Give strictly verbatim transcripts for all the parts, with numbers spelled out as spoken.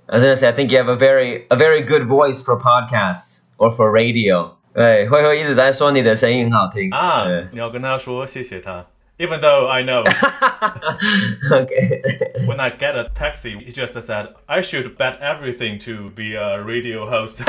I was gonna say, I think you have a very a very good voice for podcasts or for radio. 对，慧慧一直在说你的声音很好听啊，你要跟他说谢谢他。Even though I know. Okay. When I get a taxi, he just said, I should bet everything to be a radio host.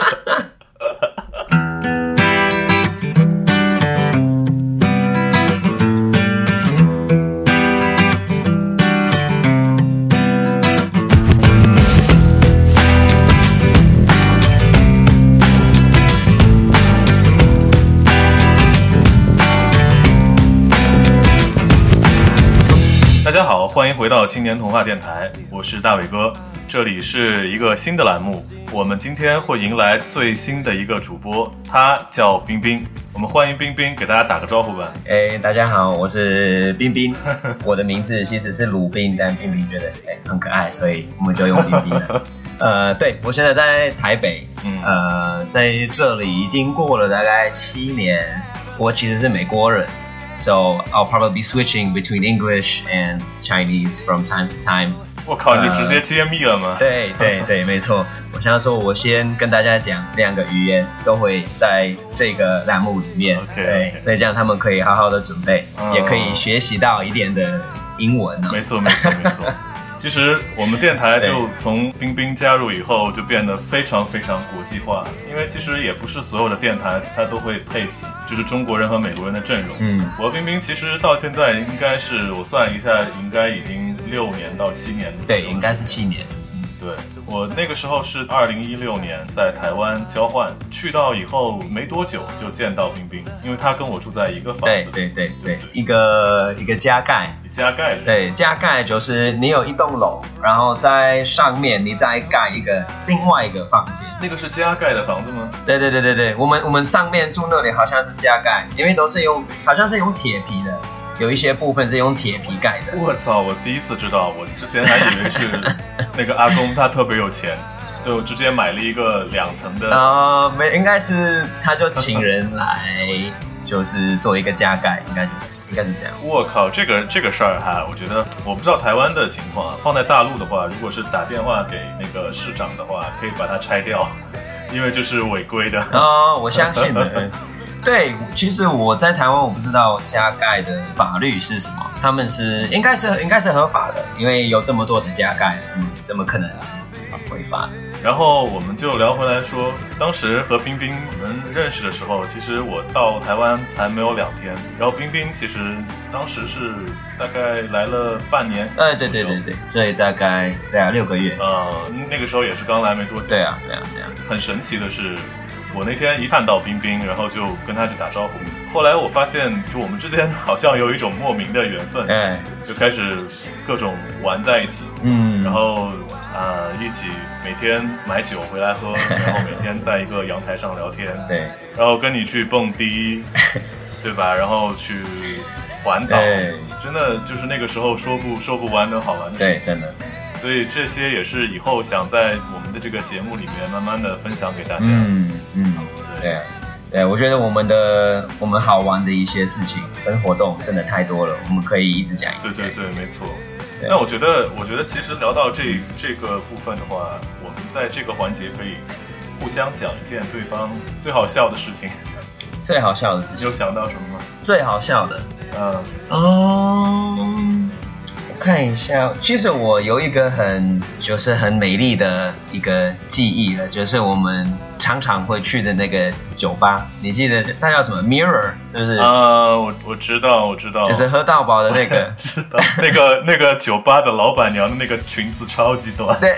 大家好，欢迎回到青年童话电台，我是大伟哥，这里是一个新的栏目，我们今天会迎来最新的一个主播，他叫冰冰，我们欢迎冰冰，给大家打个招呼吧。 哎，大家好，我是冰冰，我的名字其实是鲁冰，但冰冰觉得哎很可爱，所以我们就用冰冰了。呃，对，我现在在台北，嗯，呃，在这里已经过了大概七年，我其实是美国人。So I'll probably be switching between English and Chinese from time to time. 我靠，你就直接揭秘了吗？ 呃、对对对，没错。我想要说，我先跟大家讲两个语言，都会在这个栏目里面。 Okay, 对， okay. 所以这样他们可以好好的准备，嗯、也可以学习到一点的英文、哦。 没错没错没错。其实我们电台就从冰冰加入以后就变得非常非常国际化，因为其实也不是所有的电台它都会配齐就是中国人和美国人的阵容。嗯，我和冰冰其实到现在应该是我算一下，应该已经六年到七年。 对，应该是七年。 对，我那个时候是二零一六年在台湾交换，去到以后没多久就见到冰冰，因为他跟我住在一个房子。 对对对 对, 对，一个一个加盖。 加盖。 对，加盖就是你有一栋楼，然后在上面你再盖一个另外一个房间。 那个是加盖的房子吗？ 对对对对对，我们我们上面住那里好像是加盖，因为都是用好像是用铁皮的。有一些部分是用铁皮盖的。 我操！我第一次知道，我之前还以为是那个阿公他特别有钱，对我直接买了一个两层的。 呃，没，应该是他就请人来，就是做一个加盖，应该就应该是这样。 我靠，这个这个事儿哈，我觉得我不知道台湾的情况啊，放在大陆的话，如果是打电话给那个市长的话，可以把它拆掉，因为这是违规的。 哦，我相信的。对，其实我在台湾我不知道加盖的法律是什么，他们是应该是应该是合法的，因为有这么多的加盖，嗯，怎么可能是违法的？ 然后我们就聊回来说，当时和冰冰我们认识的时候，其实我到台湾才没有两天，然后冰冰其实当时是大概来了半年。 哎，对对对对，所以大概对啊六个月。 呃，那个时候也是刚来没多久。 对啊对啊对啊。 很神奇的是。我那天一看到冰冰，然后就跟他去打招呼。后来我发现，就我们之间好像有一种莫名的缘分，哎，就开始各种玩在一起，嗯，然后呃一起每天买酒回来喝，然后每天在一个阳台上聊天，对，然后跟你去蹦迪，对吧？然后去环岛，真的就是那个时候说不说不完的好玩的事情， 对，真的。 所以这些也是以后想在我们的这个节目里面慢慢的分享给大家。 嗯嗯，对啊，对，我觉得我们的我们好玩的一些事情跟活动真的太多了，我们可以一直讲。 对对对，没错。那我觉得，我觉得其实聊到这这个部分的话，我们在这个环节可以互相讲一件对方最好笑的事情。 最好笑的事情， 你有想到什么吗？ 最好笑的， 嗯嗯。看一下，其实我有一个很就是很美丽的一个记忆了，就是我们常常会去的那个酒吧，你记得它叫什么 Mirror 是不是？ 啊，我我知道我知道， 就是喝到饱的那个， 知道那个那个酒吧的老板娘的那个裙子超级短， 对，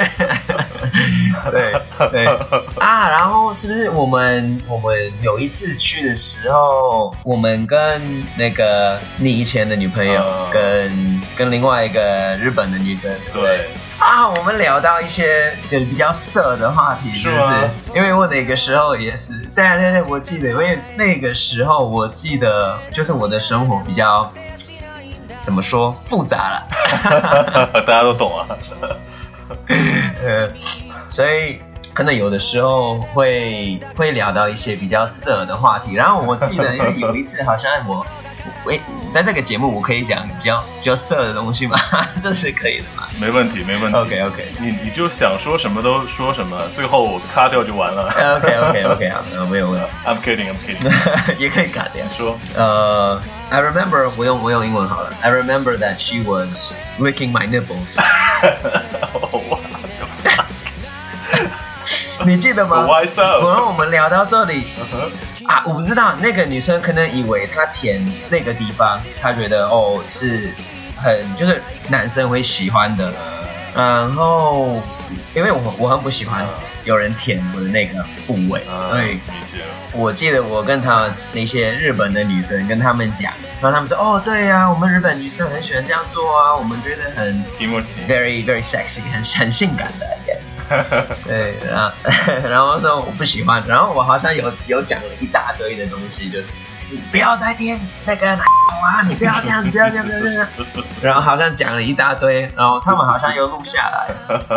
对对啊，然后是不是我们我们有一次去的时候，我们跟那个你以前的女朋友、uh, 跟跟另外一个日本的女生，对。对啊，我们聊到一些就是比较色的话题，是不是？因为我那个时候也是，对对对，我记得，因为那个时候我记得，就是我的生活比较怎么说复杂了， 大家都懂啊。 呃，所以可能有的时候会会聊到一些比较色的话题。然后我记得，因为有一次好像我。喂， 在这个节目我可以讲比较比较色的东西吗？这是可以的吗？ 没问题，没问题。 OK OK， 你你就想说什么都说什么，最后我卡掉就完了。 OK OK OK， 好，没有问题。 I'm kidding, I'm kidding 。 也可以卡掉。 说， 呃、uh, ，I remember， 我用我用英文好了。I remember that she was licking my nipples 。你记得吗 ？Why so？ 然后我们聊到这里、uh-huh. 啊，我不知道那个女生可能以为她舔那个地方，她觉得哦是很就是男生会喜欢的，然后因为我我很不喜欢有人舔我的那个部位，所以我记得我跟他那些日本的女生跟他们讲，然后他们说哦对呀、啊，我们日本女生很喜欢这样做啊，我们觉得很 very very sexy， 很很性感的 I guess 对，然后然后说我不喜欢，然后我好像有有讲了一大堆的东西，就是你不要再舔那个奶啊，你不要这样子，不要这样，不要这样，然后好像讲了一大堆，然后他们好像有录下来，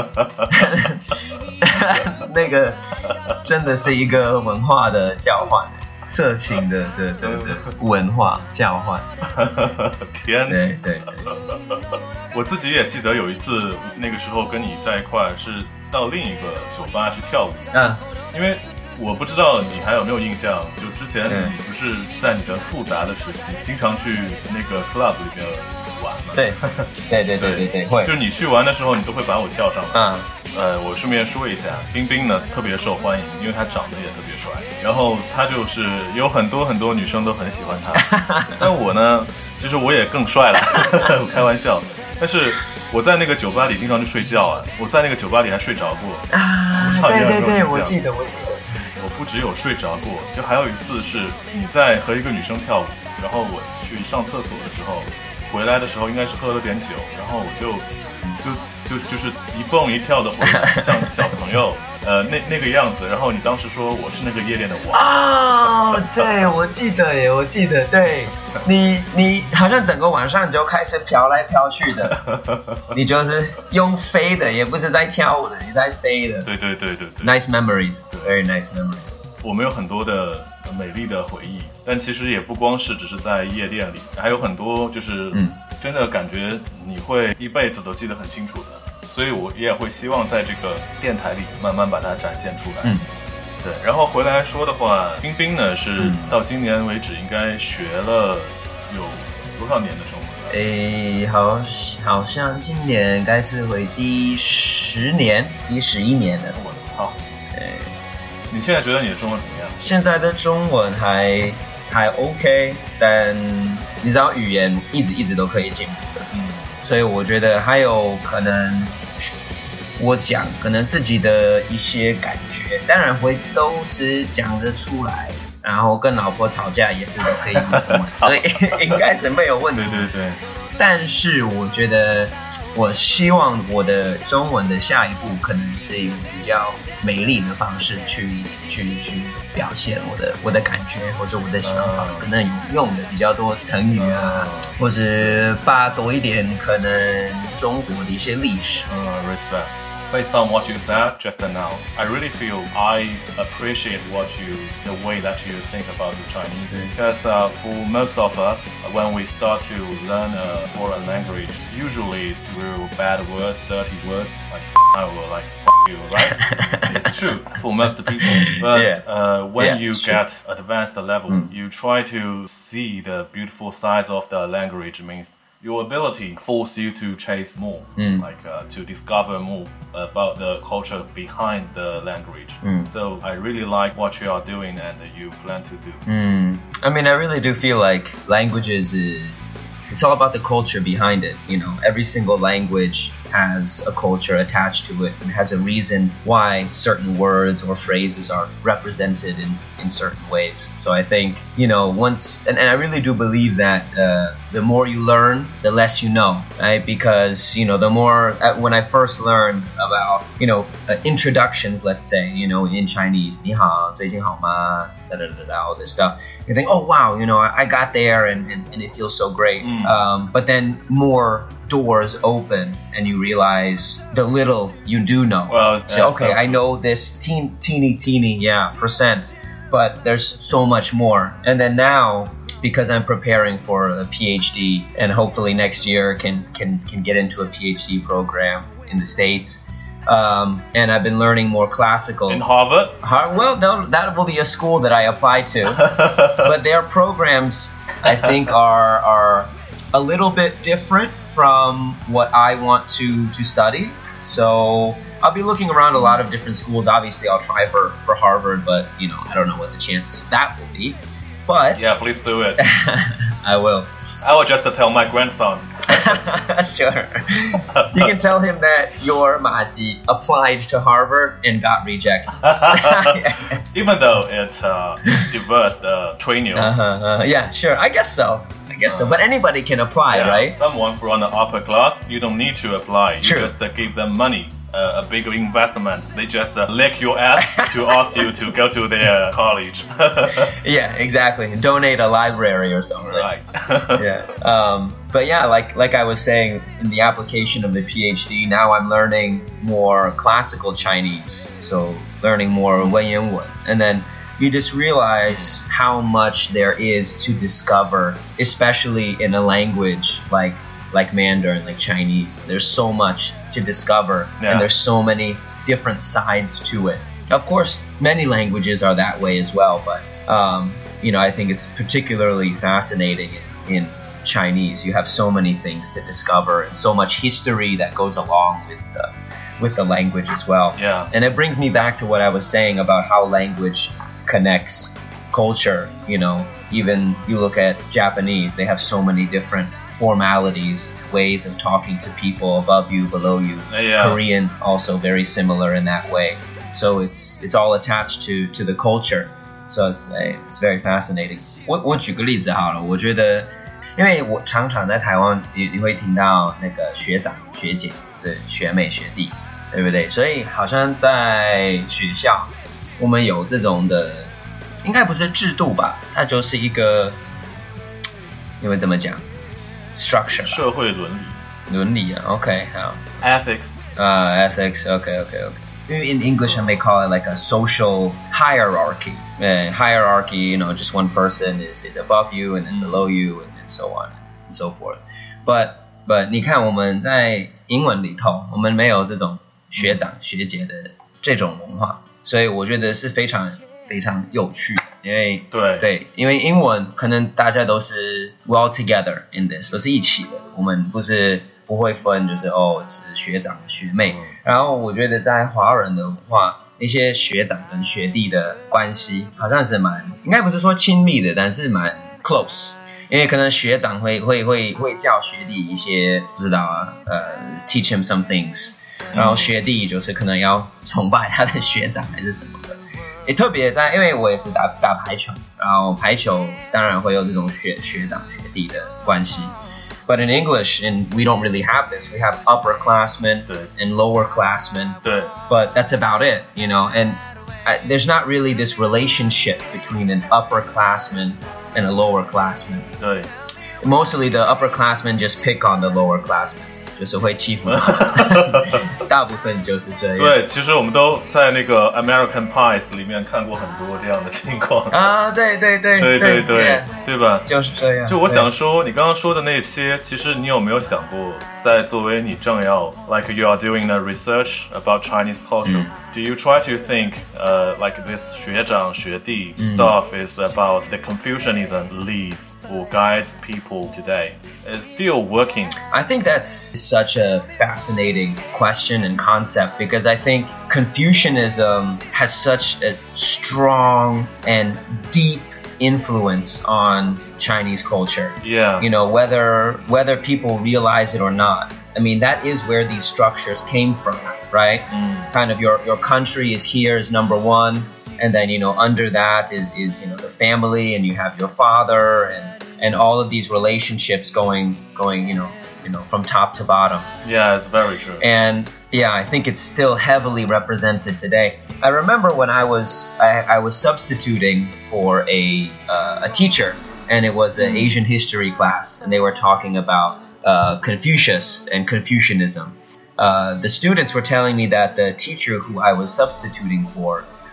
那个真的是一个文化的交换，色情的的的的文化交换。 天， 对对对， 我自己也记得有一次，那个时候跟你在一块是到另一个酒吧去跳舞，嗯，因为我不知道你还有没有印象，就之前你不是在你的复杂的时期，经常去那个 club 里面玩嘛？ 对，对对对对对，会。 就是你去玩的时候，你都会把我叫上来。 嗯。 呃，我顺便说一下，冰冰呢特别受欢迎，因为他长得也特别帅，然后他就是有很多很多女生都很喜欢他。但我呢，就是我也更帅了，我开玩笑。但是我在那个酒吧里经常去睡觉啊，我在那个酒吧里还睡着过啊！对对对，我记得我记得。 我不只有睡着过，就还有一次是你在和一个女生跳舞，然后我去上厕所的时候，回来的时候应该是喝了点酒，然后我就就就就是一蹦一跳的回来，像小朋友呃那那个样子。然后你当时说我是那个夜店的王啊、哦，对，我记得耶，我记得，对你你好像整个晚上你就开始飘来飘去的，你就是用飞的，也不是在跳舞的，你在飞的。 对对对对对 ，nice memories， very nice memories。 我们有很多的美丽的回忆，但其实也不光是只是在夜店里，还有很多就是真的感觉你会一辈子都记得很清楚的，所以我也会希望在这个电台里慢慢把它展现出来。嗯，对。然后回来说的话，冰冰呢是到今年为止应该学了有多少年的中文？ 诶，好，好像今年应该是会第十年，第十一年了。 我操！诶。你现在觉得你的中文怎么样？ 现在的中文还还 OK， 但你知道语言一直一直都可以进步的，嗯，所以我觉得还有可能我讲可能自己的一些感觉，当然会都是讲得出来，然后跟老婆吵架也是都可以的嘛，所以应该是没有问题。 对对对。 但是我觉得，我希望我的中文的下一步可能是用比较美丽的方式去去去表现我的我的感觉或者我的想法，嗯、可能有用的比较多成语啊，嗯、或者把多一点可能中国的一些历史。 嗯 ，respect。Based on what you said just now, I really feel I appreciate what you, the way that you think about the Chinese. Because uh, for most of us, when we start to learn a foreign language, usually through bad words, dirty words, like or like you, right? It's true for most people. But yeah. uh, when yeah, you get true. advanced level, mm. you try to see the beautiful sides of the language. Means your ability force you to chase more, mm. like uh, to discover more about the culture behind the language. Mm. So I really like what you are doing and you plan to do. Mm. I mean, I really do feel like languages is, it's all about the culture behind it. You know, every single language has a culture attached to it and has a reason why certain words or phrases are represented in, in certain ways. So I think, you know, once, and, and I really do believe that uh, the more you learn, the less you know, right? Because, you know, the more, uh, when I first learned about, you know, uh, introductions, let's say, you know, in Chinese, 你好,最近好吗? Da, da, da, da, all this stuff. You think, oh, wow, you know, I, I got there and, and, and it feels so great. Mm. Um, but then more doors open and you realize the little you do know. Well, so, okay, so I know this teen, teeny, teeny, yeah, percent, but there's so much more. And then now because I'm preparing for a PhD and hopefully next year can can can get into a PhD program in the States. Um, and I've been learning more classical. In Harvard? Har- well, that will be a school that I apply to. But their programs, I think, are are a little bit different from what I want to, to study. So I'll be looking around a lot of different schools. Obviously, I'll try for, for Harvard, but, you know, I don't know what the chances of that will be. But yeah, please do it. I will. I will just tell my grandson. Sure. You can tell him that your Maji applied to Harvard and got rejected. Even though it uh, diverse the training. Uh-huh, uh, yeah, sure. I guess so. I guess so. But anybody can apply, yeah. right? Someone from the upper class, you don't need to apply. You True. just uh, give them money. Uh, a bigger investment. They just uh, lick your ass to ask you to go to their college. Yeah, exactly. Donate a library or something. Right. Yeah. Um, but yeah, like like I was saying, in the application of the PhD, now I'm learning more classical Chinese. So learning more Wenyan Wen. And then you just realize how much there is to discover, especially in a language like like Mandarin, like Chinese. There's so much to discover, yeah. And there's so many different sides to it. Of course, many languages are that way as well, but um, you know, I think it's particularly fascinating in, in Chinese. You have so many things to discover and so much history that goes along with the, with the language as well. Yeah. And it brings me back to what I was saying about how language connects culture. You know, even you look at Japanese, they have so many different formalities, ways of talking to people above you, below you. Yeah. Korean also very similar in that way. So it's it's all attached to to the culture. So it's it's very fascinating. 我我举个例子好了，我觉得，因为我常常在台湾，你你会听到那个学长、学姐、是学妹、学弟，对不对？所以好像在学校，我们有这种的，应该不是制度吧？它就是一个，因为怎么讲？ structure 社会伦理伦理啊 OK 好 ethics 啊、uh, ethics OK OK OK in English I may call it like a social hierarchy uh, hierarchy you know just one person is, is above you and then below you and, and so on and so forth but but 你看我们在英文里头我们没有这种学长学姐的这种文化所以我觉得是非常非常有趣因为对对，因为英文可能大家都是 well together in this， 都是一起的。我们不是不会分，就是哦是学长学妹。嗯、然后我觉得在华人的话，那些学长跟学弟的关系好像是蛮，应该不是说亲密的，但是蛮 close。因为可能学长会会会会教学弟一些，不知道啊，呃 ，teach him some things， 然后学弟就是可能要崇拜他的学长还是什么的。也特别在，因为我也是打打排球，然后排球当然会有这种学学长学弟的关系。But in English, and we don't really have this. We have upperclassmen and lowerclassmen. But that's about it, you know. And I, there's not really this relationship between an upperclassman and a lowerclassman. Mostly the upperclassmen just pick on the lowerclassmen. 就是会欺负大部分就是这样对其实我们都在那个 American Pies 里面看过很多这样的情况啊对对对对对对 对, 对吧就是这样就我想说你刚刚说的那些其实你有没有想过在作为你正要 like you are doing a research about Chinese culture、嗯、do you try to think uh, like this 学长学弟、嗯、stuff is about the Confucianism leads or guides people today is still working I think that's such a fascinating question and concept because I think Confucianism has such a strong and deep influence on Chinese culture. Yeah. You know, whether whether people realize it or not. I mean, that is where these structures came from, right? Mm. Kind of your, your country is here is number one, and then, you know, under that is, is, you know, the family, and you have your father, and, and all of these relationships going, going, you know, you know, from top to bottom. Yeah, it's very true. And yeah, I think it's still heavily represented today. I remember when I was I, I was substituting for a uh, a teacher, and it was an Asian history class, and they were talking about uh, Confucius and Confucianism. Uh, the students were telling me that the teacher who I was substituting for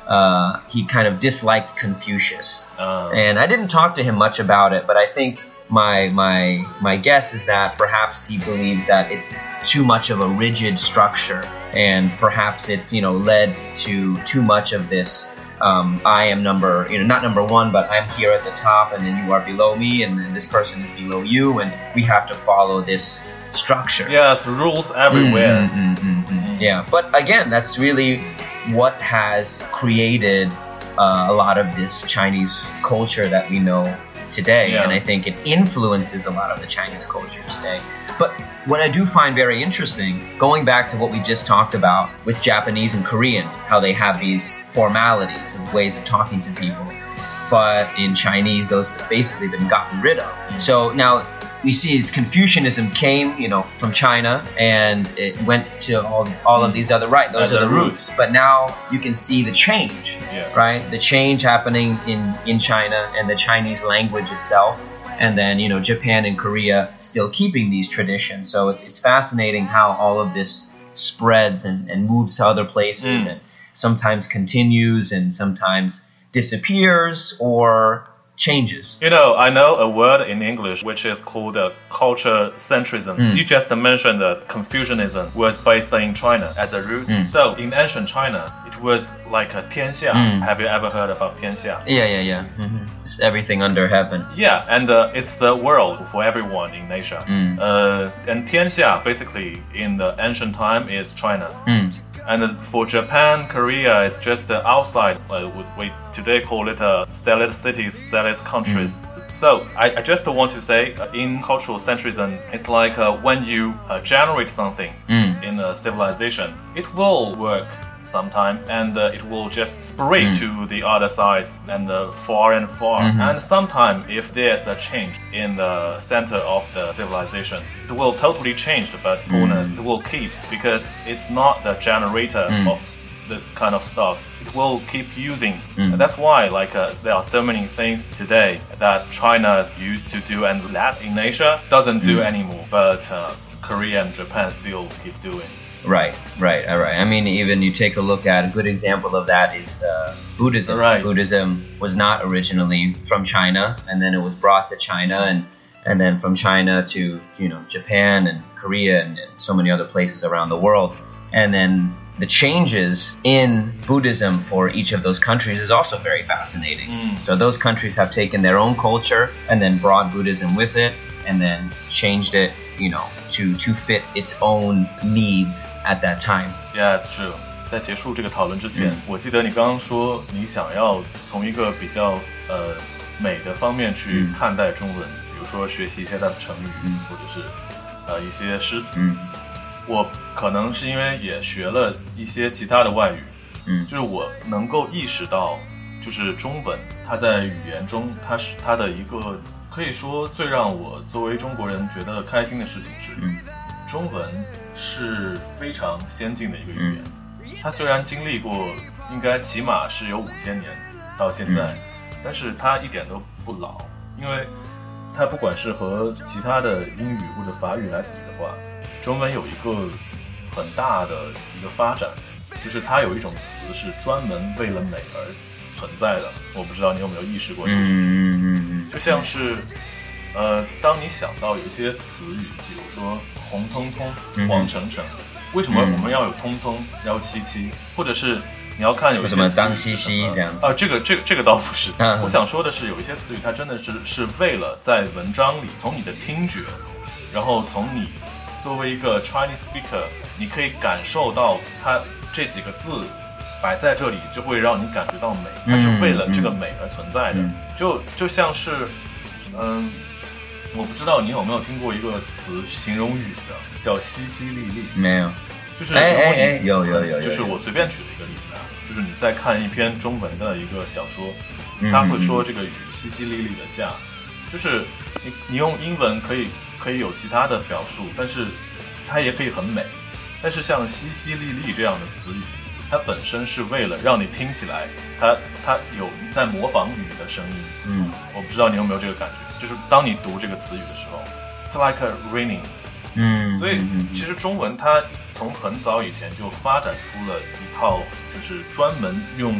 uh, he kind of disliked Confucius. Uh. And I didn't talk to him much about it, but I think my my my guess is that perhaps he believes that it's too much of a rigid structure, and perhaps it's, you know, led to too much of this um, I am number, you know, not number one, but I'm here at the top, and then you are below me, and then this person is below you, and we have to follow this structure. Yes, rules everywhere. Mm, mm, mm, mm, mm. Yeah, but again, that's really what has created uh, a lot of this Chinese culture that we know today, yeah. and I think it influences a lot of the Chinese culture today. But what I do find very interesting, going back to what we just talked about with Japanese and Korean, how they have these formalities and ways of talking to people, but in Chinese, those have basically been gotten rid of. So now we see Confucianism came, you know, from China, and it went to all, all of these other, right, those As are the roots. roots. But now you can see the change, yeah. right? The change happening in, in China and the Chinese language itself. And then, you know, Japan and Korea still keeping these traditions. So it's it's fascinating how all of this spreads and, and moves to other places, mm. and sometimes continues and sometimes disappears or changes. You know, I know a word in English which is called uh, culture centrism. Mm. You just mentioned that Confucianism was based in China as a root. Mm. So in ancient China, it was like a 天下. Mm. Have you ever heard about 天下? Yeah, yeah, yeah. Mm-hmm. It's everything under heaven. Yeah, and uh, it's the world for everyone in Asia. Mm. Uh, and 天下basically in the ancient time is China. Mm. And for Japan, Korea, it's just uh, outside. Uh, we today call it uh, stellate cities, stellate countries. Mm. So I, I just want to say, uh, in cultural centrism, it's like uh, when you uh, generate something mm. in a civilization, it will work sometime, and uh, it will just spread mm. to the other sides and uh, far and far. Mm-hmm. And sometime, if there's a change in the center of the civilization, it will totally change, but fullness mm. it will keep, because it's not the generator mm. of this kind of stuff. It will keep using. Mm. And that's why, like, uh, there are so many things today that China used to do and that in Asia doesn't mm. do anymore, but uh, Korea and Japan still keep doing. Right, right, all right. I mean, even you take a look at a good example of that is uh, Buddhism. Right. Buddhism was not originally from China, and then it was brought to China, and and then from China to, you know, Japan and Korea and, and so many other places around the world. And then the changes in Buddhism for each of those countries is also very fascinating. Mm. So those countries have taken their own culture and then brought Buddhism with it, and then changed it, you know, to to fit its own needs at that time. Yeah, it's true. 在结束这个讨论之前，嗯、我记得你刚刚说你想要从一个比较呃美的方面去看待中文，嗯、比如说学习一些它的成语，嗯、或者是呃一些诗词。 嗯、 我可能是因为也学了一些其他的外语， 嗯， 就是我能够意识到，就是中文它在语言中，它是它的一个。可以说最让我作为中国人觉得开心的事情是， 嗯、 中文是非常先进的一个语言。嗯、它虽然经历过，应该起码是有五千年到现在，嗯、但是它一点都不老，因为它不管是和其他的英语或者法语来比的话，中文有一个很大的一个发展，就是它有一种词是专门为了美而存在的。我不知道你有没有意识过这个事情。 嗯嗯嗯就像是，呃，当你想到有些词语，比如说红彤彤、黄澄澄，嗯、为什么我们要有通通、要七七，或者是你要看有一些什么当西西这样啊、呃，这个这个这个倒不是。 嗯、 我想说的是，有一些词语它真的是是为了在文章里，从你的听觉，然后从你作为一个 Chinese speaker， 你可以感受到它这几个字。摆在这里就会让你感觉到美，它是为了这个美而存在的。 嗯嗯、 就就像是，嗯，我不知道你有没有听过一个词形容雨的，叫淅淅沥沥。 没有， 就是哎哎哎，有有有， 就是我随便举的一个例子啊，就是你在看一篇中文的一个小说，他会说这个雨淅淅沥沥的下，就是你你用英文可以可以有其他的表述，但是它也可以很美。但是像淅淅沥沥这样的词语。它本身是为了让你听起来，它它有在模仿雨的声音。 嗯， 我不知道你有没有这个感觉，就是当你读这个词语的时候 ，It's like a raining。 嗯， 所以其实中文它从很早以前就发展出了一套，就是专门用于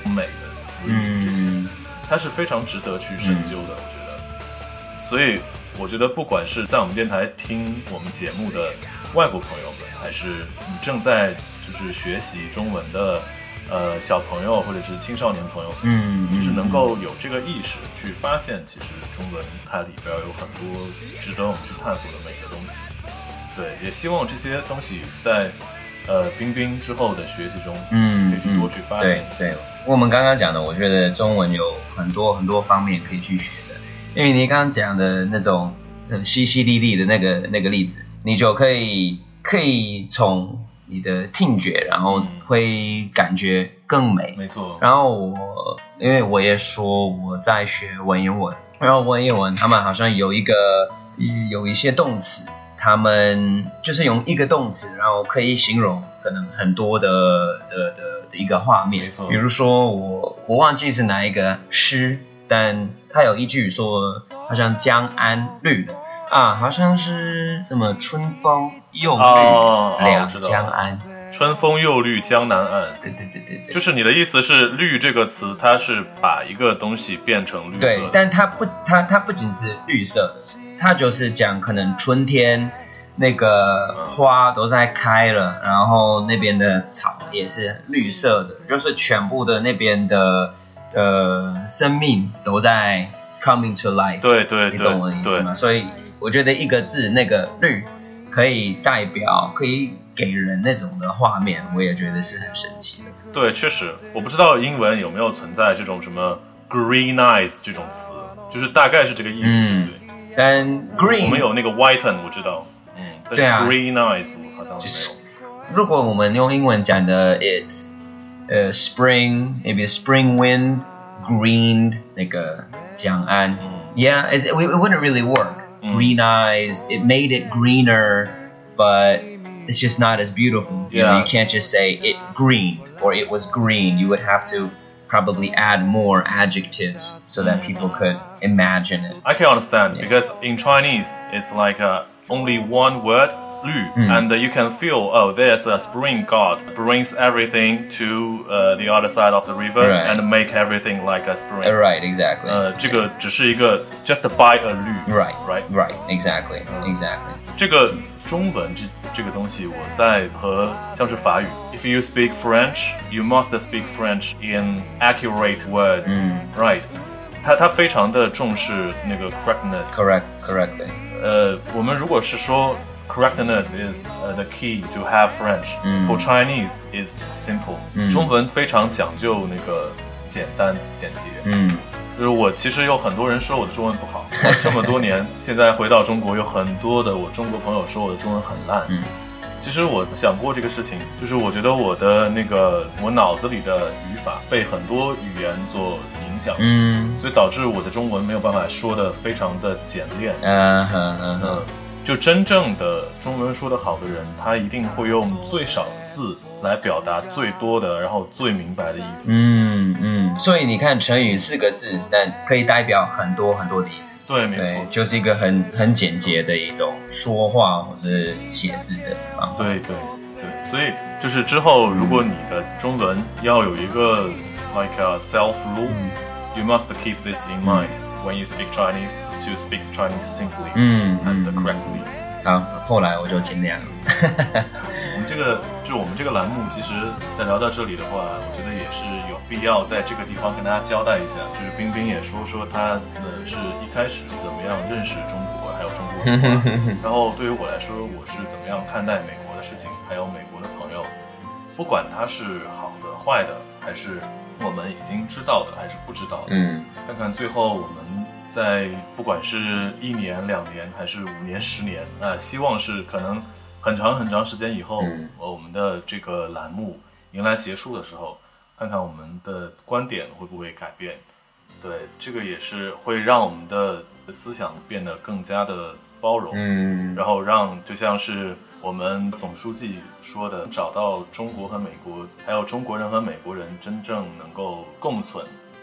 美的词语这些，嗯，它是非常值得去深究的，嗯，我觉得。所以我觉得不管是在我们电台听我们节目的外国朋友们，还是你正在就是学习中文的呃小朋友或者是青少年朋友，嗯，就是能够有这个意识去发现，其实中文它里边有很多值得我们去探索的美的东西。对，也希望这些东西在呃冰冰之后的学习中，嗯，可以去多去发现。 对对，我们刚刚讲的，我觉得中文有很多很多方面可以去学的，因为你刚刚讲的那种很淅淅沥沥的那个那个例子，你就可以可以从你的听觉，然后会感觉更美。 没错。 然后我因为我也说我在学文言文，然后文言文他们好像有一个有一些动词，他们就是用一个动词，然后可以形容可能很多的的的的一个画面。 没错。 比如说我我忘记是哪一个诗，但他有一句说好像江安绿啊，好像是什么春风又绿、 哦、 两江岸， 春风又绿江南岸。 对对对对对， 就是你的意思是绿这个词，它是把一个东西变成绿色的。 对，但它不，它它不仅是绿色的，它就是讲可能春天那个花都在开了，然后那边的草也是绿色的，就是全部的那边的呃生命都在 coming to life。 对对对， 你懂我的意思吗？所以我觉得一个字那个绿可以代表，可以给人那种的画面，我也觉得是很神奇的。 对，确实，我不知道英文有没有存在这种什么 green eyes 这种词，就是大概是这个意思，嗯、对不对？ 但 green 我们有那个 whiten 我知道，嗯，但是 green eyes 我好像没有。 如果我们用英文讲的 it's 呃、uh, spring maybe spring wind greened 那个江岸、嗯、yeah it, it wouldn't really work、mm. green eyes it made it greener but it's just not as beautiful. You yeah. know, you can't just say it greened or it was green. You would have to probably add more adjectives so that people could imagine it. I can understand, yeah. because in Chinese it's like uh, only one word, 绿, mm. and uh, you can feel, oh, there's a spring god brings everything to uh, the other side of the river, right. and make everything like a spring. Right, exactly. 呃，这个只是一个 just by a 绿 Right, right, right, exactly, exactly. 这个中文这这个东西，我在和像是法语 ，if you speak French, you must speak French in accurate words, mm. right? 它它非常的重视那个 correctness. Correct, correctly. 呃，我们如果是说 correctness is、uh, the key to have French. Mm. For Chinese is simple. 嗯、中文非常讲究那个简单简洁。 嗯， 就是我其实有很多人说我的中文不好，这么多年现在回到中国，有很多的我中国朋友说我的中文很烂。 嗯， 其实我想过这个事情，就是我觉得我的那个我脑子里的语法被很多语言所影响， 嗯， 所以导致我的中文没有办法说的非常的简练。 嗯哼嗯哼。 就真正的中文说得好的人，他一定会用最少的字来表达最多的，然后最明白的意思。 嗯嗯，所以你看成语四个字，但可以代表很多很多的意思。 对，没错， 就是一个很很简洁的一种说话或是写字的方法。 对对对，所以就是之后，如果你的中文要有一个 like a self rule、嗯、you must keep this in mind、嗯、when you speak Chinese to speak Chinese simply、 嗯、 and correctly。 好，后来我就尽量了。 我们这个就我们这个栏目，其实在聊到这里的话，我觉得也是有必要在这个地方跟大家交代一下。就是冰冰也说说他呃是一开始怎么样认识中国，还有中国文化。然后对于我来说，我是怎么样看待美国的事情，还有美国的朋友，不管他是好的、坏的，还是我们已经知道的，还是不知道的。 嗯， 看看最后我们。在不管是一年、两年，还是五年、十年，啊、呃，希望是可能很长很长时间以后，嗯、我们的这个栏目迎来结束的时候，看看我们的观点会不会改变。对，这个也是会让我们的思想变得更加的包容， 嗯， 然后让就像是我们总书记说的，找到中国和美国，还有中国人和美国人真正能够共存。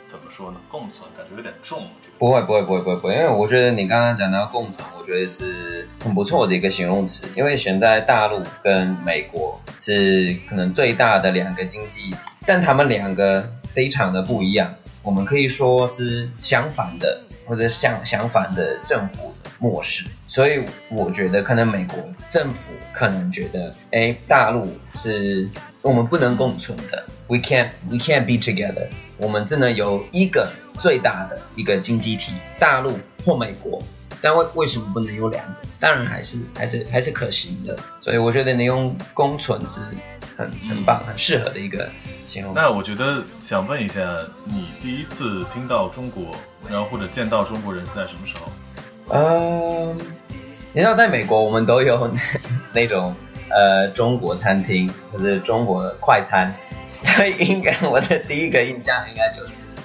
怎么说呢？共存感觉有点重。 不会不会不会不会不会，因为我觉得你刚刚讲到共存，我觉得是很不错的一个形容词。因为现在大陆跟美国是可能最大的两个经济体，但他们两个非常的不一样。我们可以说是相反的，或者相相反的政府模式。所以我觉得可能美国政府可能觉得，哎，大陆是我们不能共存的 ，we can't we can't be together。我们只能有一个最大的一个经济体，大陆或美国。但为为什么不能有两个？当然还是还是还是可行的。所以我觉得你用共存是很很棒、很适合的一个形容词。 那我觉得想问一下，你第一次听到中国，然后或者见到中国人是在什么时候？ 嗯，你知道在美国我们都有那种呃中国餐厅或者中国快餐，所以应该我的第一个印象应该就是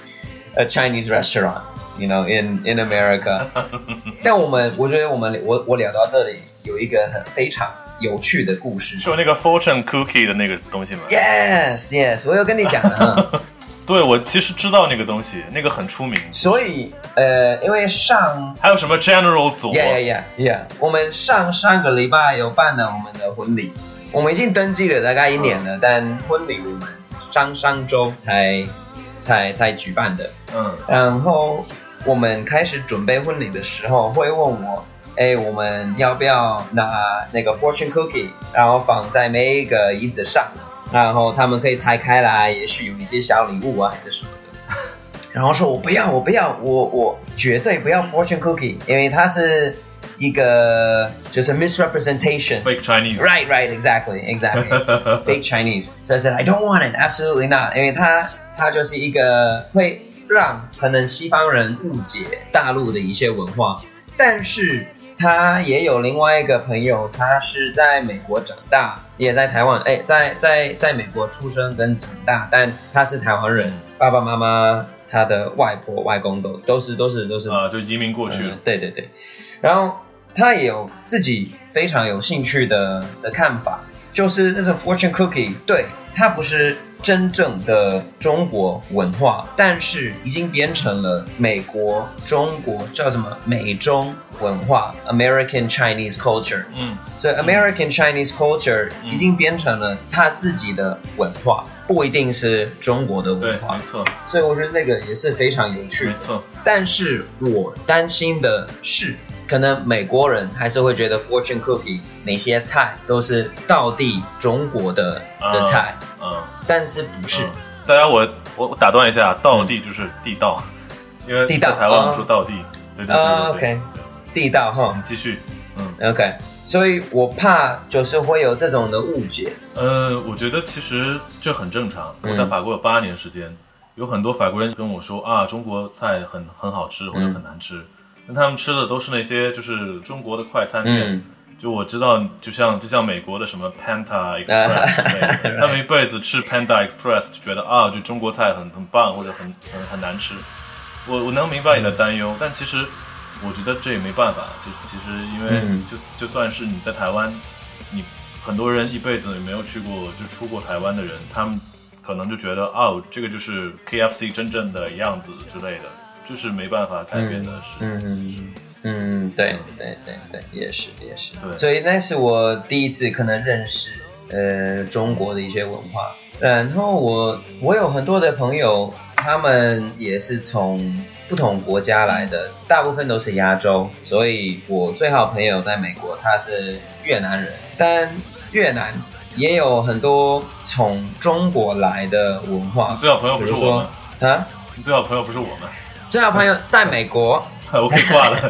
a Chinese restaurant。You know, in in America. 但我们，我觉得我们，我我聊到这里有一个很非常有趣的故事， 是有那个 fortune cookie 的那个东西吗 ？Yes, yes， 我有跟你讲的。 对，我其实知道那个东西，那个很出名。 所以，呃，因为上还有什么 General 组 ？Yeah, yeah, yeah, yeah。我们上上个礼拜有办了我们的婚礼，我们已经登记了大概一年了，嗯、但婚礼我们上上周才才才举办的。嗯，然后。我们开始准备婚礼的时候，会问我，哎，我们要不要拿那个 fortune cookie， 然后放在每一个椅子上，然后他们可以拆开来，也许有一些小礼物啊，还是什么的。然后说我不要，我不要，我我绝对不要 fortune cookie， 因为它是一个就是 misrepresentation。Fake Chinese。Right, right, exactly, exactly. It's fake Chinese. So I said I don't want it, absolutely not. 因为它它就是一个会。让可能西方人误解大陆的一些文化，但是他也有另外一个朋友，他是在美国长大，也在台湾，哎，在在在美国出生跟长大，但他是台湾人，爸爸妈妈、他的外婆、外公都都是都是都是啊，就移民过去了、嗯。 对对对，然后他也有自己非常有兴趣的的看法，就是那种 fortune cookie， 对，它不是。真正的中国文化，但是已经变成了美国、中国叫什么美中文化 American Chinese culture。嗯，所以 American Chinese culture 已经变成了他自己的文化，不一定是中国的文化。 对，没错。 所以我觉得那个也是非常有趣的。 没错。但是我担心的是，可能美国人还是会觉得 fortune cookie 哪些菜都是道地中国的的菜。嗯。嗯但是不是、嗯？ 大家我我打断一下，道地就是地道，因为在台湾我们说道地，对对对对对、uh, OK， 地道哈。 你继续， 嗯 OK， 所以我怕就是会有这种的误解。 呃，我觉得其实这很正常。我在法国有八年时间，嗯、有很多法国人跟我说啊，中国菜很很好吃或者很难吃，那、嗯、他们吃的都是那些就是中国的快餐店。嗯就我知道，就像就像美国的什么 Panda Express 之类的，他们一辈子吃 Panda Express 就觉得啊，就中国菜很很棒或者很很很难吃。我我能明白你的担忧，但其实我觉得这也没办法。就其实因为就就算是你在台湾，你很多人一辈子也没有去过就出过台湾的人，他们可能就觉得哦，这个就是 K F C 真正的样子之类的，就是没办法改变的事情。嗯嗯嗯，对对对对，也是也是。对，所以那是我第一次可能认识呃中国的一些文化。然后我我有很多的朋友，他们也是从不同国家来的，大部分都是亚洲。所以我最好朋友在美国，他是越南人，但越南也有很多从中国来的文化。 你最好朋友不是我们啊？ 你最好朋友不是我们？ 最好朋友在美国。 我可以挂了。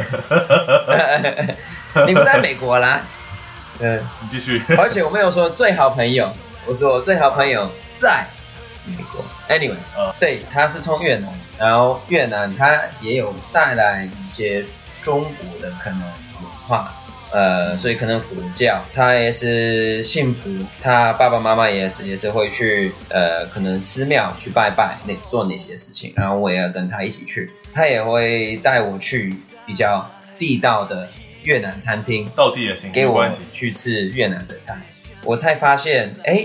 你不在美国啦？ 嗯，你继续。 而且我没有说最好朋友，我说最好朋友在美国。Anyways，、uh. 对，他是从越南，然后越南他也有带来一些中国的可能文化，呃，所以可能佛教，他也是信佛，他爸爸妈妈也是也是会去呃，可能寺庙去拜拜，那做那些事情，然后我也要跟他一起去。他也会带我去比较地道的越南餐厅， 道地也行， 给我去吃越南的菜。我才发现，哎，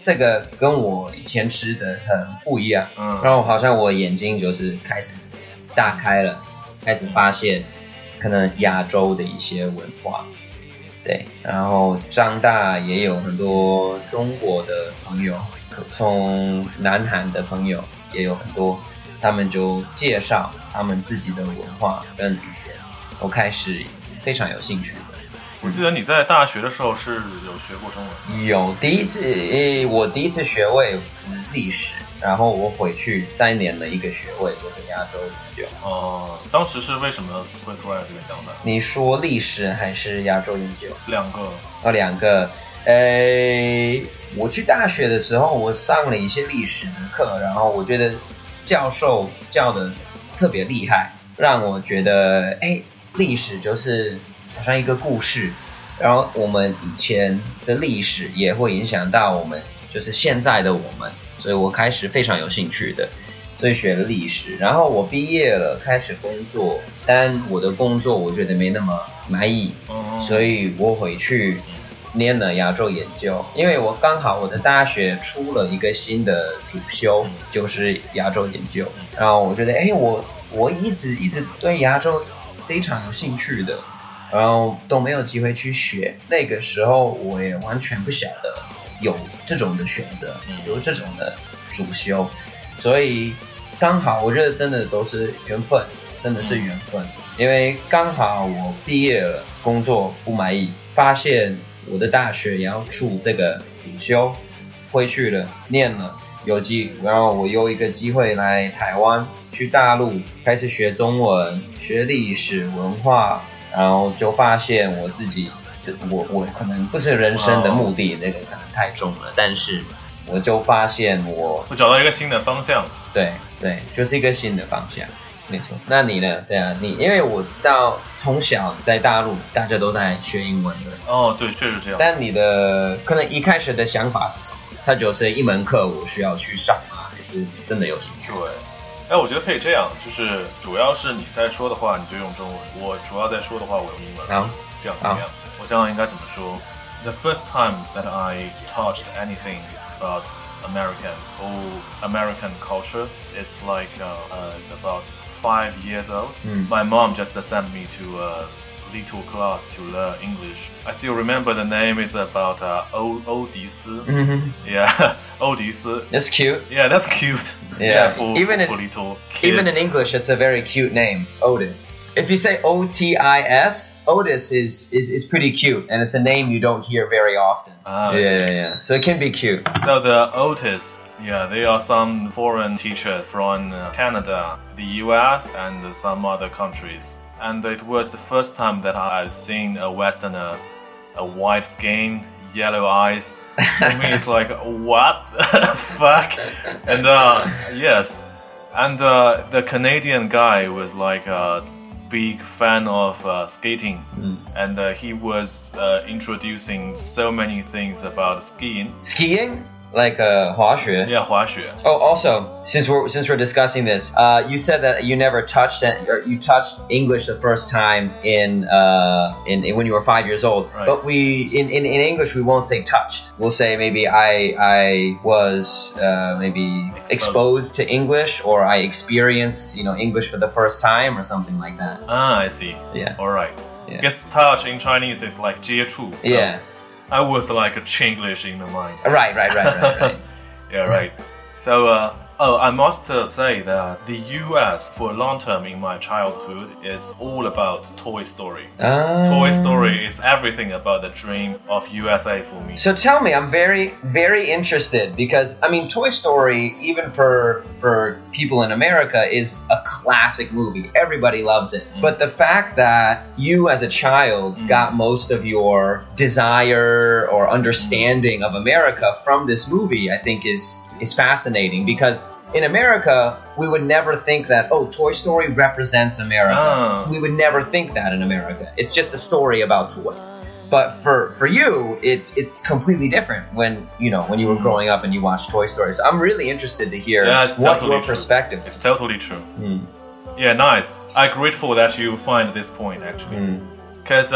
这个跟我以前吃的很不一样，嗯，然后好像我眼睛就是开始大开了，开始发现可能亚洲的一些文化，对，然后长大也有很多中国的朋友，从南韩的朋友也有很多，他们就介绍他们自己的文化跟语言，我开始非常有兴趣的。 我记得你在大学的时候是有学过中文？ 有，第一次，我第一次学位是历史，然后我回去再念了一个学位，就是亚洲研究。 哦，当时是为什么会突然有这个想法？ 你说历史还是亚洲研究？ 两个。 哦，两个。呃，我去大学的时候，我上了一些历史的课，然后我觉得教授教的特别厉害，让我觉得，哎，历史就是好像一个故事，然后我们以前的历史也会影响到我们，就是现在的我们，所以我开始非常有兴趣的，所以学了历史。然后我毕业了，开始工作，但我的工作我觉得没那么满意，所以我回去念了亚洲研究，因为我刚好我的大学出了一个新的主修，就是亚洲研究，然后我觉得，哎，我我一直一直对亚洲非常有兴趣的。然后都没有机会去学，那个时候我也完全不晓得有这种的选择，有这种的主修，所以刚好我觉得真的都是缘分，真的是缘分，因为刚好我毕业了，工作不满意，发现我的大学也要出这个主修，回去了念了，有机，然后我有一个机会来台湾，去大陆开始学中文，学历史文化。然后就发现我自己，我我可能不是人生的目的，那个可能太重了。但是我就发现我， 我找到一个新的方向。 对对，就是一个新的方向，没错。那你呢？对啊，你因为我知道从小在大陆大家都在学英文的。 哦，对，确实这样。 但你的可能一开始的想法是什么？它就是一门课，我需要去上啊，还是真的有兴趣？ 对。哎，我觉得可以这样，就是主要是你在说的话，你就用中文；我主要在说的话，我用英文。 好， 这样怎么样？我想想应该怎么说。The first time that I touched anything about American or American culture, it's like uh, uh, it's about five years old. Mm. My mom just sent me to a little class to learn English. I still remember the name is about uh, o- 欧迪斯. Mm-hmm. Yeah, 欧迪斯. That's cute. Yeah, that's cute. Yeah, yeah for, even for, for in, little kids. Even in English, it's a very cute name, Otis. If you say O T I S, Otis is, is, is pretty cute, and it's a name you don't hear very often. Ah, yeah, yeah, yeah. So it can be cute. So the Otis, yeah, they are some foreign teachers from Canada, the U S, and some other countries. And it was the first time that I've seen a Westerner, a white skin, yellow eyes. For me, it's like, what the fuck? And uh, yes, and uh, the Canadian guy was like a big fan of uh, skating, mm. and uh, he was uh, introducing so many things about skiing. Skiing? Like uh, 滑雪? Yeah, 滑雪. Oh, also, since we're since we're discussing this, uh, you said that you never touched it, or you touched English the first time in uh in, in when you were five years old. Right. But we in, in, in English we won't say touched. We'll say maybe I I was uh, maybe exposed. exposed to English, or I experienced you know English for the first time, or something like that. Ah, I see. Yeah. All right. Yeah. I guess touch in Chinese is like 接触. So yeah. I was like a Chinglish in the mind. Right, right, right, right, right. Yeah, right. So, uh, oh, I must uh, say that the U S for a long time in my childhood is all about Toy Story. Uh, Toy Story is everything about the dream of U S A for me. So tell me, I'm very, very interested because, I mean, Toy Story, even for for people in America, is a classic movie. Everybody loves it. Mm. But the fact that you as a child mm. got most of your desire or understanding mm. of America from this movie, I think is is fascinating because in America, we would never think that, oh, Toy Story represents America. Oh. We would never think that in America. It's just a story about toys. But for, for you, it's it's completely different when you know when you were growing up and you watched Toy Story. So I'm really interested to hear yeah, it's what totally your true. perspective is. It's totally true. Mm. Yeah, nice. I'm grateful that you find this point actually. Because mm. uh,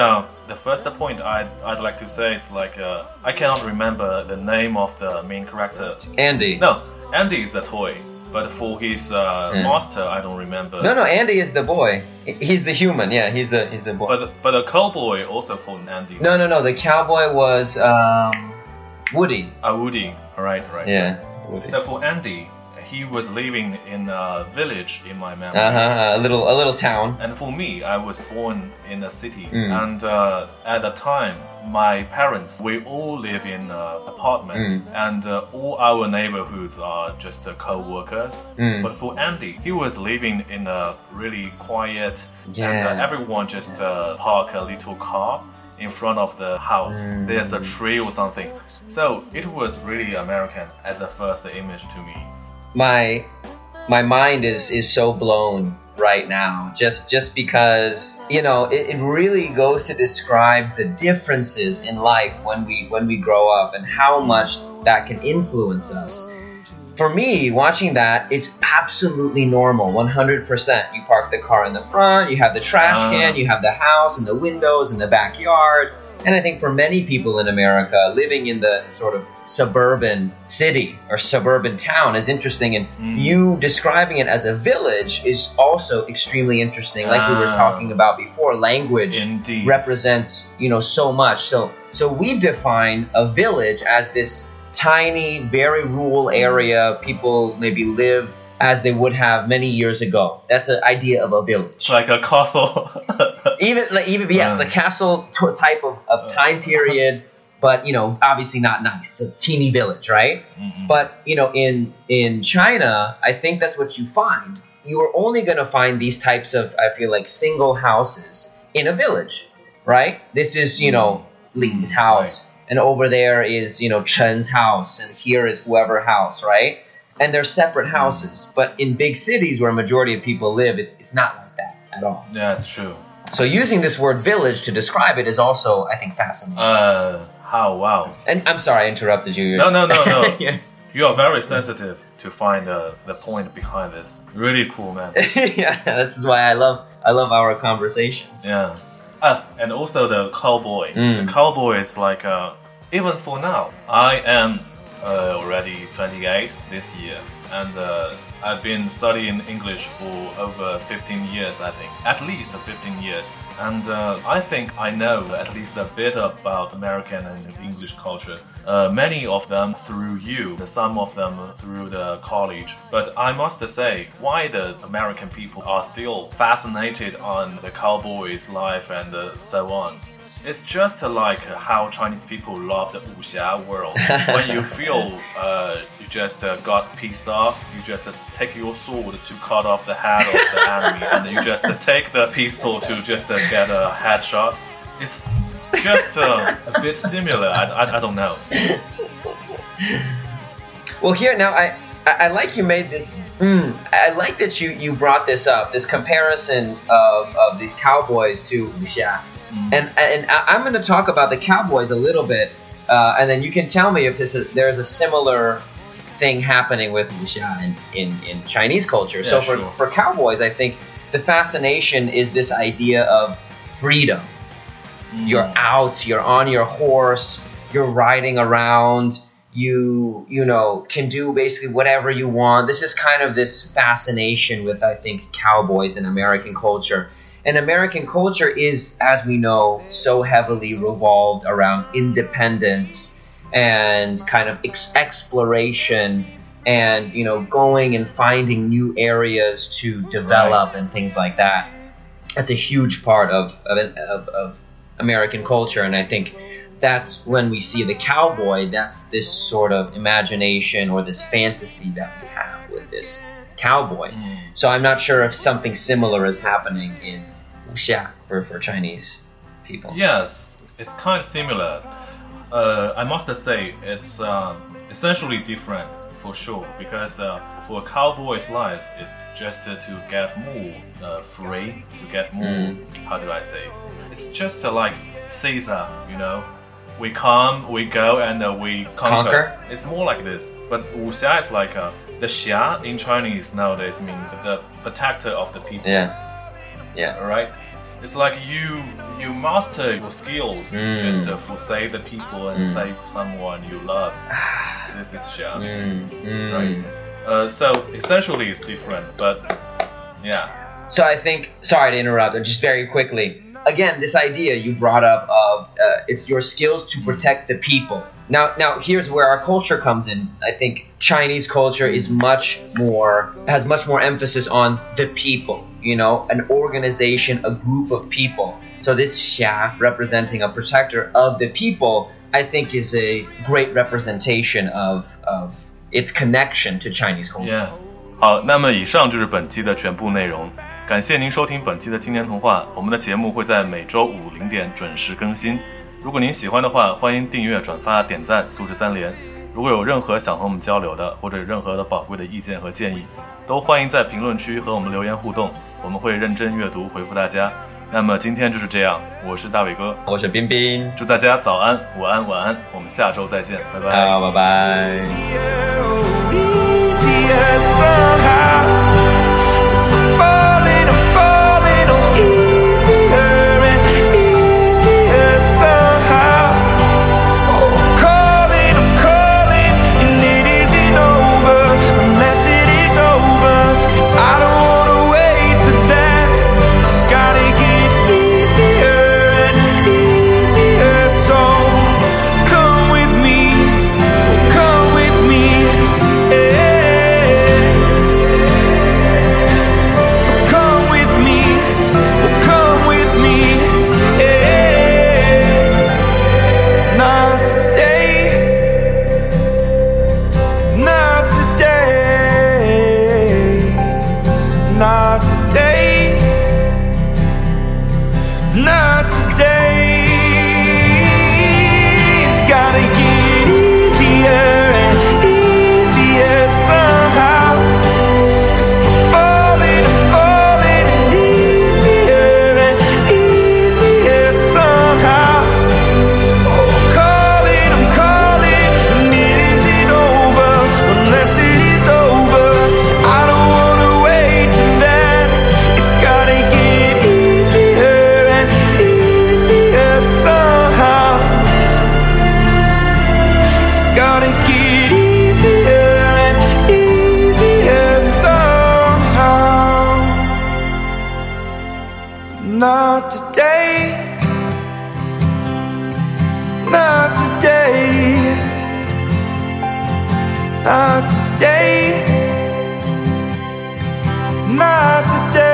the first point I'd, I'd like to say is like, uh, I cannot remember the name of the main character. Andy. No, Andy is a toy. But for his uh, mm. master, I don't remember. No, no, Andy is the boy. He's the human. Yeah, he's the he's the boy. But but a cowboy also called Andy. No, no, no. The cowboy was um, Woody. Ah, uh, Woody. Right, right. Yeah. Woody. So for Andy, he was living in a village in my memory. Uh huh. A little a little town. And for me, I was born in a city, mm. and uh, at the time, my parents, we all live in an apartment, mm. and uh, all our neighborhoods are just uh, co-workers. Mm. But for Andy, he was living in a really quiet, yeah. and uh, everyone just uh, park a little car in front of the house. Mm. There's a tree or something. So it was really American as a first image to me. My my mind is is so blown right now, just just because, you know, it, it really goes to describe the differences in life when we when we grow up and how much that can influence us. For me, watching that, it's absolutely normal, one hundred percent. You park the car in the front, you have the trash can, you have the house and the windows and the backyard. And I think for many people in America, living in the sort of suburban city or suburban town is interesting. And mm. you describing it as a village is also extremely interesting. Like ah. we were talking about before, language Indeed. represents, you know, so much. So, so we define a village as this tiny, very rural area. People maybe live as they would have many years ago. That's an idea of a village. It's like a castle. even, like, even yes, uh, the castle t- type of, of time period, but, you know, obviously not nice. It's a teeny village, right? Mm-hmm. But, you know, in, in China, I think that's what you find. You are only going to find these types of, I feel like, single houses in a village, right? This is, you know, Li's house. Right. And over there is, you know, Chen's house. And here is whoever house, right? And they're separate houses. But in big cities where a majority of people live, it's it's not like that at all. Yeah, that's true. So using this word village to describe it is also, I think, fascinating. Uh, how, wow. And I'm sorry I interrupted you. No, no, no, no. yeah. You are very sensitive to find the, the point behind this. Really cool, man. yeah, this is why I love I love our conversations. Yeah. Ah, and also the cowboy. Mm. The cowboy is like, uh, even for now, I am uh, already twenty-eight this year. And uh, I've been studying English for over fifteen years, I think. At least fifteen years. And uh, I think I know at least a bit about American and English culture. Uh, many of them through you, some of them through the college. But I must say, why the American people are still fascinated on the cowboys' life and uh, so on. It's just like how Chinese people love the wuxia world. When you feel uh, you just uh, got pissed off, you just uh, take your sword to cut off the head of the enemy, and you just uh, take the pistol to just uh, get a headshot. It's just uh, a bit similar. I, I, I don't know. Well, here now, I, I like you made this. Mm, I like that you, you brought this up. This comparison of, of these cowboys to wuxia. Mm. And and I'm going to talk about the cowboys a little bit, uh, and then you can tell me if this is, there's a similar thing happening with wuxia in, in, in Chinese culture. Yeah, so for, sure. for cowboys, I think the fascination is this idea of freedom. Mm. You're out, you're on your horse, you're riding around, you you know can do basically whatever you want. This is kind of this fascination with, I think, cowboys in American culture. And American culture is, as we know, so heavily revolved around independence and kind of ex- exploration and, you know, going and finding new areas to develop right. and things like that. That's a huge part of, of, of, of American culture. And I think that's when we see the cowboy, that's this sort of imagination or this fantasy that we have with this cowboy. Mm. So I'm not sure if something similar is happening in wuxia for, for Chinese people. Yes, it's kind of similar. Uh, I must say it's uh, essentially different for sure, because uh, for a cowboy's life, it's just uh, to get more uh, free, to get more, mm. how do I say it? It's just uh, like Caesar, you know? We come, we go, and uh, we conquer. conquer. It's more like this. But wuxia is like uh, the xia in Chinese nowadays means the protector of the people. Yeah. Yeah. All right. it's like you you master your skills mm. just to save the people and mm. save someone you love. This is xia, mm. Mm. right? Uh, so essentially it's different, but yeah. So I think, sorry to interrupt, but just very quickly. Again, this idea you brought up of uh, it's your skills to protect the people. Now, now here's where our culture comes in. I think Chinese culture is much more, has much more emphasis on the people, you know, an organization, a group of people. So this xia, representing a protector of the people, I think is a great representation of, of its connection to Chinese culture. Yeah. 好，那么以上就是本期的全部内容。感谢您收听本期的青年童话，我们的节目会在每周五零点准时更新。如果您喜欢的话，欢迎订阅、转发、点赞，素质三连。如果有任何想和我们交流的，或者有任何的宝贵的意见和建议，都欢迎在评论区和我们留言互动，我们会认真阅读回复大家。那么今天就是这样，我是大伟哥， 我是彬彬， 祝大家早安、午安、晚安，我们下周再见，拜拜。 好，拜拜。 Not today, not today, not today, not today.